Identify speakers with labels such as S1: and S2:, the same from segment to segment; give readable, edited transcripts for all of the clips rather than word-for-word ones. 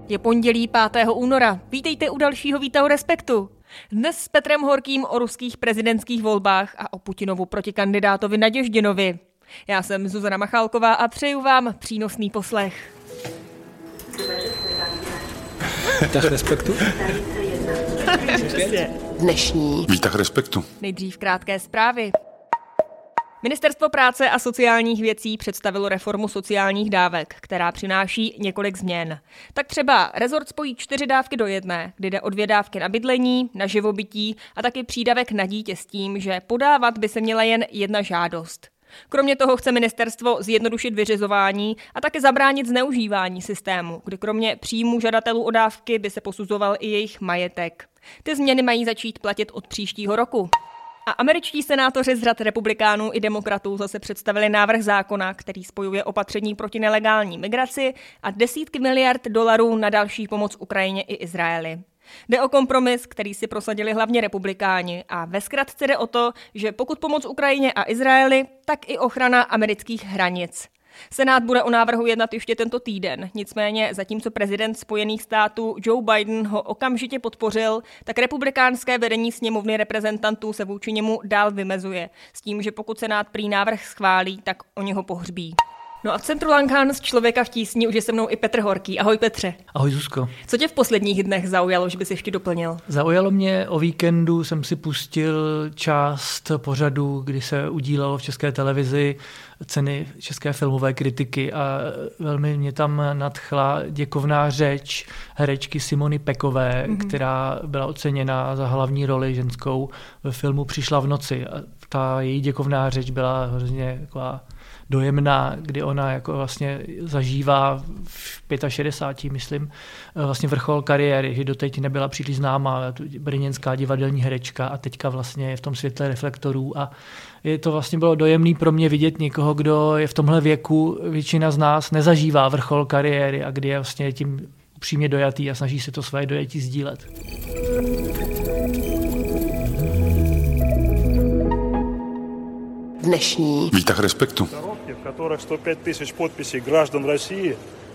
S1: Je pondělí 5. února. Vítejte u dalšího Víta o Respektu. Dnes s Petrem Horkým o ruských prezidentských volbách a o Putinovu protikandidátovi Naděždinovi. Já jsem Zuzana Machálková a přeju vám přínosný poslech.
S2: Výtah Respektu?
S3: Dnešní
S4: Výtah Respektu.
S1: Nejdřív krátké zprávy. Ministerstvo práce a sociálních věcí představilo reformu sociálních dávek, která přináší několik změn. Tak třeba rezort spojí 4 dávky do jedné, kdy jde o 2 dávky na bydlení, na živobytí a taky přídavek na dítě s tím, že podávat by se měla jen jedna žádost. Kromě toho chce ministerstvo zjednodušit vyřizování a také zabránit zneužívání systému, kdy kromě příjmů žadatelů o dávky by se posuzoval i jejich majetek. Ty změny mají začít platit od příštího roku. A američtí senátoři z řad republikánů i demokratů zase představili návrh zákona, který spojuje opatření proti nelegální migraci a desítky miliard dolarů na další pomoc Ukrajině i Izraeli. Jde o kompromis, který si prosadili hlavně republikáni a ve zkratce jde o to, že pokud pomoc Ukrajině a Izraeli, tak i ochrana amerických hranic. Senát bude o návrhu jednat ještě tento týden, nicméně zatímco prezident Spojených států Joe Biden ho okamžitě podpořil, tak republikánské vedení sněmovny reprezentantů se vůči němu dál vymezuje, s tím, že pokud Senát prý návrh schválí, tak oni ho pohřbí. No a v centru Langhans z Člověka v tísni už je se mnou i Petr Horký. Ahoj Petře.
S2: Ahoj Zuzko.
S1: Co tě v posledních dnech zaujalo, že bys ještě doplnil?
S2: Zaujalo mě, o víkendu jsem si pustil část pořadu, kdy se udílalo v České televizi ceny české filmové kritiky a velmi mě tam nadchla děkovná řeč herečky Simony Pekové, která byla oceněna za hlavní roli ženskou ve filmu Přišla v noci. A ta její děkovná řeč byla hrozně taková dojemná, kdy ona jako vlastně zažívá v 65, myslím, vlastně vrchol kariéry, že doteď nebyla příliš známá brněnská divadelní herečka a teďka vlastně je v tom světle reflektorů a je to vlastně bylo dojemný pro mě vidět někoho, kdo je v tomhle věku, většina z nás nezažívá vrchol kariéry a kdy je vlastně tím upřímně dojatý a snaží se to své dojetí sdílet.
S3: dnešní
S4: Výtah Respektu.
S5: В которых 105 тысяч подписей граждан России,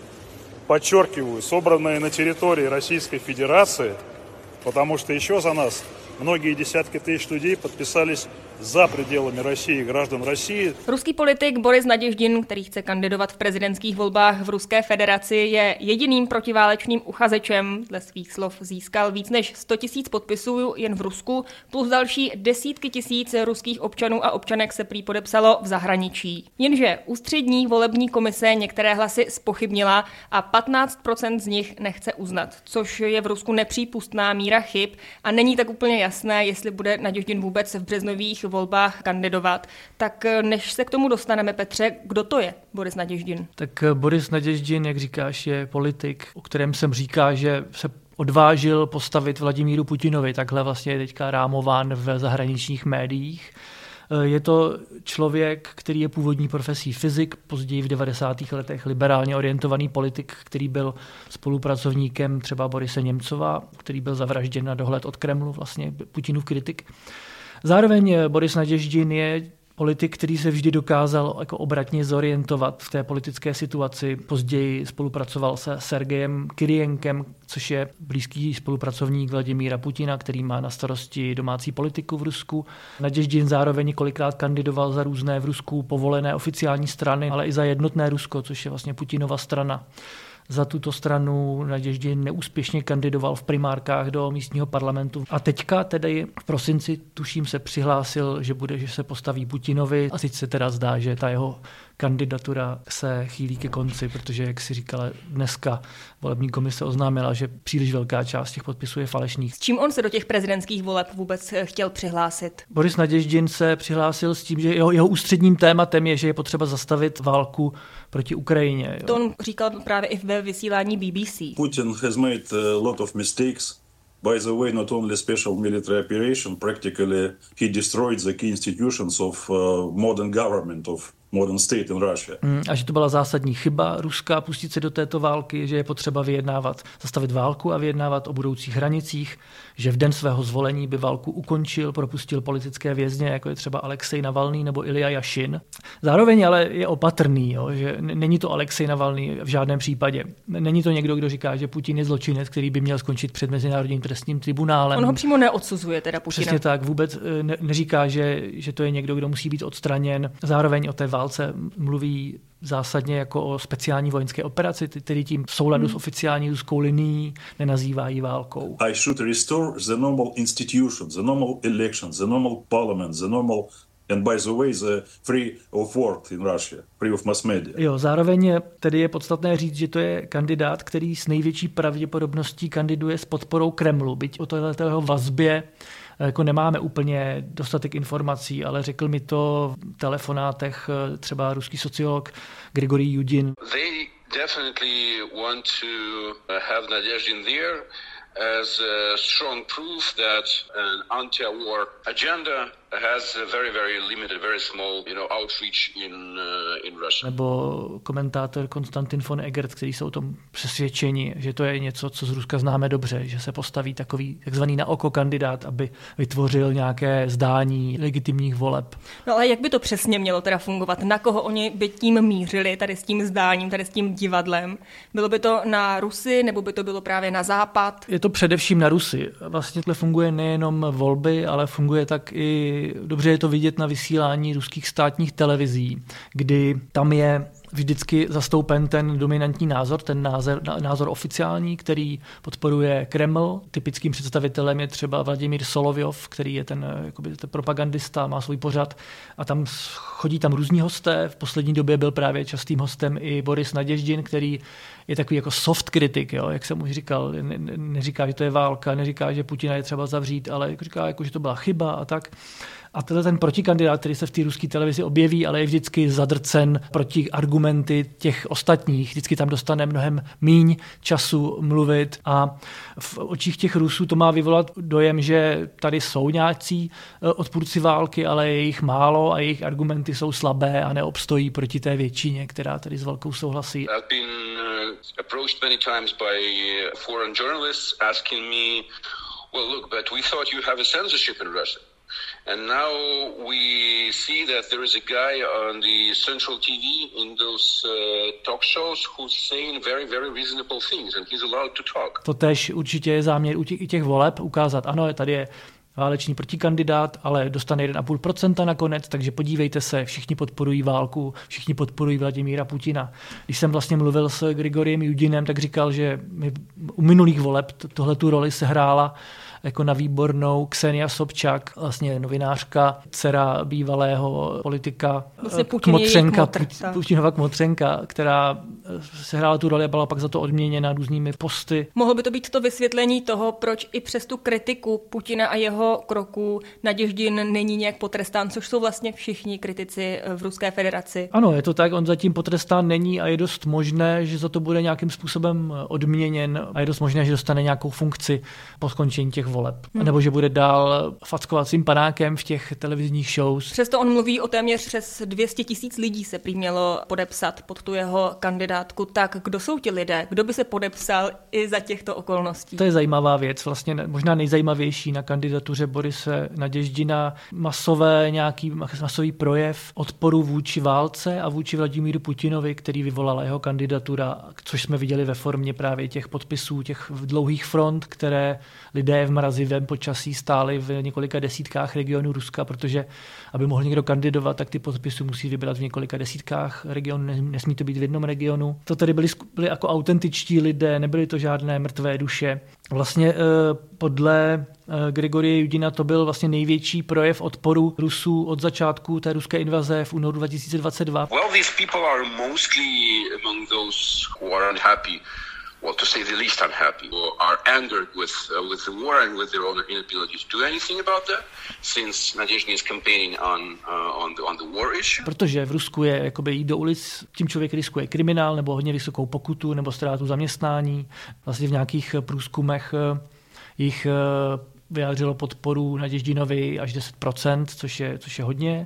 S5: подчеркиваю, собранные на территории Российской Федерации, потому что еще за нас многие десятки тысяч людей подписались za пределами России, граждан России.
S1: Ruský politik Boris Naděždin, který chce kandidovat v prezidentských volbách v Ruské federaci, je jediným protiválečným uchazečem. Dle svých slov získal víc než 100 000 podpisů jen v Rusku, plus další desítky tisíc ruských občanů a občanek se prý podepsalo v zahraničí. Jenže ústřední volební komise některé hlasy zpochybnila a 15% z nich nechce uznat, což je v Rusku nepřípustná míra chyb a není tak úplně jasné, jestli bude Naděždin vůbec v březnových volbách kandidovat. Tak než se k tomu dostaneme, Petře, kdo to je Boris Naděždin?
S2: Tak Boris Naděždin, jak říkáš, je politik, o kterém jsem říká, že se odvážil postavit Vladimíru Putinovi. Takhle vlastně je teďka rámován v zahraničních médiích. Je to člověk, který je původní profesí fyzik, později v 90. letech liberálně orientovaný politik, který byl spolupracovníkem třeba Borise Němcova, který byl zavražděn na dohled od Kremlu, vlastně Putinův kritik. Zároveň Boris Naděždin je politik, který se vždy dokázal jako obratně zorientovat v té politické situaci. Později spolupracoval se Sergejem Kyrienkem, což je blízký spolupracovník Vladimíra Putina, který má na starosti domácí politiku v Rusku. Naděždin zároveň několikrát kandidoval za různé v Rusku povolené oficiální strany, ale i za Jednotné Rusko, což je vlastně Putinova strana. Za tuto stranu Naděždin neúspěšně kandidoval v primárkách do místního parlamentu. A teďka tedy v prosinci, tuším, se přihlásil, že se postaví Putinovi. A teď se teda zdá, že ta jeho kandidatura se chýlí ke konci, protože, jak si říkala, dneska volební komise oznámila, že příliš velká část těch podpisů je falešných.
S1: S čím on se do těch prezidentských voleb vůbec chtěl přihlásit?
S2: Boris Naděždin se přihlásil s tím, že jeho ústředním tématem je, že je potřeba zastavit válku proti Ukrajině.
S1: To on říkal právě i ve vysílání BBC.
S5: Putin has made a lot of mistakes. By the way, not only special military operation, practically he destroyed the key institutions of modern government, of
S3: modern state in Russia.
S2: A že to byla zásadní chyba Ruska pustit se do této války, že je potřeba vyjednávat, zastavit válku a vyjednávat o budoucích hranicích, že v den svého zvolení by válku ukončil, propustil politické vězně, jako je třeba Alexej Navalný nebo Ilja Jašin. Zároveň ale je opatrný, jo, že není to Alexej Navalný v žádném případě. Není to někdo, kdo říká, že Putin je zločinec, který by měl skončit před Mezinárodním trestním tribunálem.
S1: On ho přímo neodsuzuje, teda Putina.
S2: Přesně tak, vůbec neříká, že to je někdo, kdo musí být odstraněn. Zároveň o té válce mluví zásadně jako o speciální vojenské operaci, tedy tím v souladu s oficiální ruskou linií nenazývají válkou.
S3: I should restore the normal institutions, the normal elections, the normal parliament, the normal and by the way, the free of word in Russia, free of mass media.
S2: Jo, zároveň tedy je podstatné říct, že to je kandidát, který s největší pravděpodobností kandiduje s podporou Kremlu, byť o této vazbě jako nemáme úplně dostatek informací, ale řekl mi to v telefonátech třeba ruský sociolog Grigorij Yudin.
S4: They definitely want to have Nadeždin there as a strong proof that an anti-war agenda has a very, very limited, very small, outreach in Russia.
S2: Nebo komentátor Konstantin von Egert, který jsou o tom přesvědčeni, že to je něco, co z Ruska známe dobře, že se postaví takový takzvaný na oko kandidát, aby vytvořil nějaké zdání legitimních voleb.
S1: No ale jak by to přesně mělo teda fungovat? Na koho oni by tím mířili, tady s tím zdáním, tady s tím divadlem? Bylo by to na Rusy, nebo by to bylo právě na Západ?
S2: Je to především na Rusy. Vlastně tohle funguje nejenom volby, ale funguje tak i dobře je to vidět na vysílání ruských státních televizí, kdy tam je vždycky zastoupen ten dominantní názor, ten názor oficiální, který podporuje Kreml. Typickým představitelem je třeba Vladimír Solovjov, který je ten propagandista, má svůj pořad a tam chodí tam různí hosté. V poslední době byl právě častým hostem i Boris Nadeždin, který je takový jako soft kritik, jo, jak jsem už říkal, neříká, že to je válka, neříká, že Putina je třeba zavřít, ale říká, jako, že to byla chyba a tak. A tenhle ten protikandidát, který se v té ruské televizi objeví, ale je vždycky zadrcen proti argumenty těch ostatních. Vždycky tam dostane mnohem míň času mluvit a v očích těch Rusů to má vyvolat dojem, že tady jsou nějací odpůrci války, ale je jich málo a jejich argumenty jsou slabé a neobstojí proti té většině, která tady s válkou souhlasí.
S4: I've been approached many times by foreign journalists asking me, well, look, but we thought you have a censorship in Russia. And now we see that there is a guy on the Central TV in those talk shows who's saying very, very reasonable things and he's allowed to talk.
S2: To též určitě je záměr i těch voleb ukázat, ano, tady je válečný protikandidát, ale dostane 1,5% nakonec, takže podívejte se, všichni podporují válku, všichni podporují Vladimíra Putina. Když jsem vlastně mluvil s Grigorijem Yudinem, tak říkal, že u minulých voleb tuhletu roli sehrála jako na výbornou Ksenia Sobčak, vlastně novinářka, dcera bývalého politika Putinova kmotřenka, která sehrála tu roli a byla pak za to odměněna různými posty.
S1: Mohlo by to být to vysvětlení toho, proč i přes tu kritiku Putina a jeho kroků Nadeždin není nějak potrestán, což jsou vlastně všichni kritici v Ruské federaci.
S2: Ano, je to tak, on zatím potrestán není a je dost možné, že za to bude nějakým způsobem odměněn a je dost možné, že dostane nějakou funkci po skončení těch voleb. Nebo že bude dál fackovacím panákem v těch televizních shows.
S1: Přesto on mluví o téměř přes 200 000 lidí se prý mělo podepsat pod tu jeho kandidátku. Tak kdo jsou ti lidé? Kdo by se podepsal i za těchto okolností?
S2: To je zajímavá věc, vlastně možná nejzajímavější na kandidatuře Borise Nadeždina. Masový projev odporu vůči válce a vůči Vladimíru Putinovi, který vyvolala jeho kandidatura, což jsme viděli ve formě právě těch podpisů, těch dlouhých front, které lidé v mrazivém počasí stáli v několika desítkách regionů Ruska, protože aby mohl někdo kandidovat, tak ty podpisy musí vybrat v několika desítkách regionů, nesmí to být v jednom regionu. To tady byli jako autentičtí lidé, nebyly to žádné mrtvé duše. Vlastně podle Grigorije Yudina to byl vlastně největší projev odporu Rusů od začátku té ruské invaze v únoru 2022.
S4: Well, these people are mostly among those who are unhappy. Well, to say the least unhappy, or are angered with the war and with their own inability to do anything about that, since Nadeždin is campaigning on the war issue.
S2: Protože v Rusku je jakoby jít do ulic, tím člověk riskuje kriminál nebo hodně vysokou pokutu nebo ztrátu zaměstnání. Vlastně v nějakých průzkumech jich vyjádřilo podporu Nadeždinovi až 10%, což je hodně.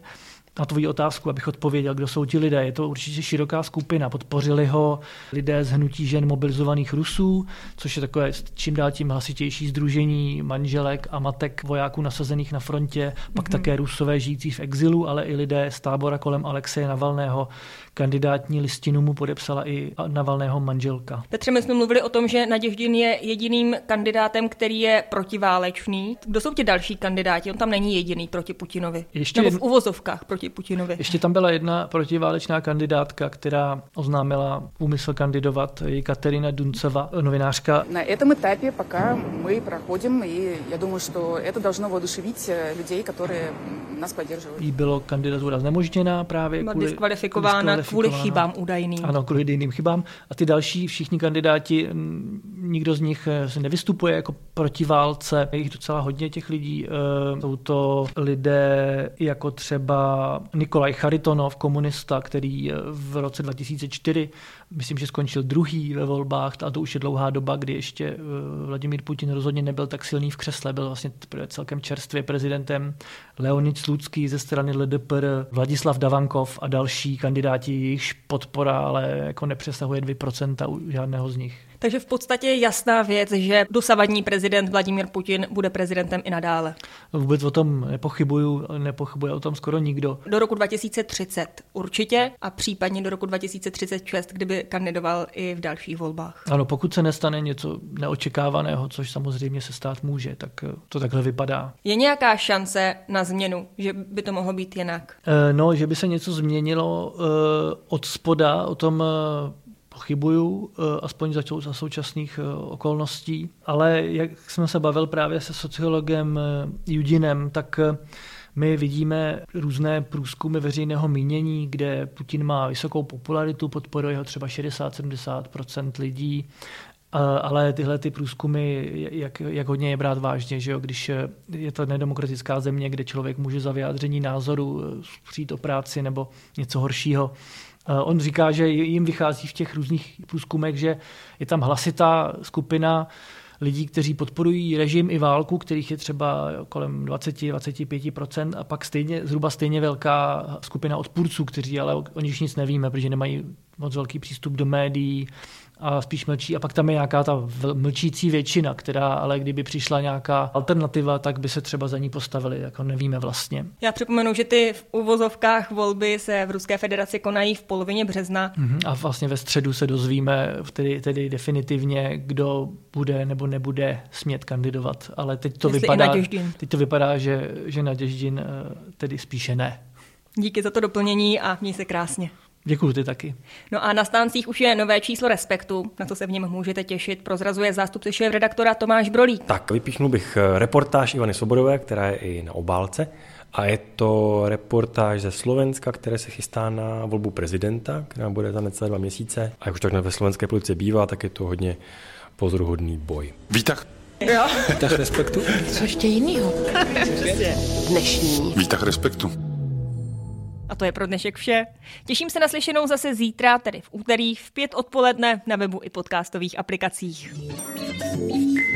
S2: na tvoji otázku, abych odpověděl, kdo jsou ti lidé. Je to určitě široká skupina. Podpořili ho lidé z hnutí žen mobilizovaných Rusů, což je takové čím dál tím hlasitější sdružení manželek a matek vojáků nasazených na frontě, pak také Rusové žijící v exilu, ale i lidé z tábora kolem Alexeje Navalného. Kandidátní listinu mu podepsala i Navalného manželka.
S1: Petře, my jsme mluvili o tom, že Naděždin je jediným kandidátem, který je protiválečný. Kdo jsou ti další kandidáti? On tam není jediný proti Putinovi. Nebo v uvozovkách proti Putinovi.
S2: Ještě tam byla jedna protiválečná kandidátka, která oznámila úmysl kandidovat, Katerina Dunceva, novinářka.
S6: Na этом этапе пока мы проходим, и я думаю, что это должно воодушевить людей, которые nás поддерживают.
S2: Jí bylo kandidatura znemožněná právě
S1: diskvalifikována kvůli chybám údajným.
S2: Ano, kvůli jiným chybám. A ty další všichni kandidáti, nikdo z nich se nevystupuje jako protiválce. Je jich docela hodně těch lidí. Jsou to lidé jako třeba Nikolaj Charitonov, komunista, který v roce 2004, myslím, že skončil druhý ve volbách, a to už je dlouhá doba, kdy ještě Vladimír Putin rozhodně nebyl tak silný v křesle, byl vlastně celkem čerstvě prezidentem. Leonid Slucký ze strany LDPR, Vladislav Davankov a další kandidáti, jejichž podpora ale jako nepřesahuje 2% u žádného z nich.
S1: Takže v podstatě je jasná věc, že dosavadní prezident Vladimír Putin bude prezidentem i nadále.
S2: Vůbec o tom nepochybuje o tom skoro nikdo.
S1: Do roku 2030 určitě a případně do roku 2036, kdyby kandidoval i v dalších volbách.
S2: Ano, pokud se nestane něco neočekávaného, což samozřejmě se stát může, tak to takhle vypadá.
S1: Je nějaká šance na změnu, že by to mohlo být jinak?
S2: No, že by se něco změnilo od spoda, o tom pochybuju, aspoň za současných okolností. Ale jak jsme se bavil právě se sociologem Judinem, tak my vidíme různé průzkumy veřejného mínění, kde Putin má vysokou popularitu, podporuje ho třeba 60-70% lidí, ale tyhle ty průzkumy, jak hodně je brát vážně, že jo? Když je to nedemokratická země, kde člověk může za vyjádření názoru přijít o práci nebo něco horšího. On říká, že jim vychází v těch různých průzkumech, že je tam hlasitá skupina lidí, kteří podporují režim i válku, kterých je třeba kolem 20-25%, a pak zhruba stejně velká skupina odpůrců, kteří ale o nich nic nevíme, protože nemají moc velký přístup do médií a spíš mlčí. A pak tam je nějaká ta mlčící většina, která ale kdyby přišla nějaká alternativa, tak by se třeba za ní postavili, jako nevíme vlastně.
S1: Já připomenu, že ty v uvozovkách volby se v Ruské federaci konají v polovině března.
S2: A vlastně ve středu se dozvíme tedy definitivně, kdo bude nebo nebude smět kandidovat. Ale teď to vypadá, že Naděždin tedy spíše ne.
S1: Díky za to doplnění a měj se krásně.
S2: Děkuju, ty taky.
S1: No a na stáncích už je nové číslo Respektu, na co se v něm můžete těšit, prozrazuje zástupce šéfredaktora Tomáš Brolík.
S7: Tak, vypíchnul bych reportáž Ivany Svobodové, která je i na obálce. A je to reportáž ze Slovenska, které se chystá na volbu prezidenta, která bude za necelé 2 měsíce. A jak už tak ve slovenské politice bývá, tak je to hodně pozoruhodný boj.
S8: Výtah.
S1: Jo.
S8: Výtah Respektu.
S9: Co ještě jinýho? Dnešní.
S8: Výtah Respektu.
S1: A to je pro dnešek vše. Těším se na slyšenou zase zítra, tedy v úterý v 5 odpoledne na webu i podcastových aplikacích.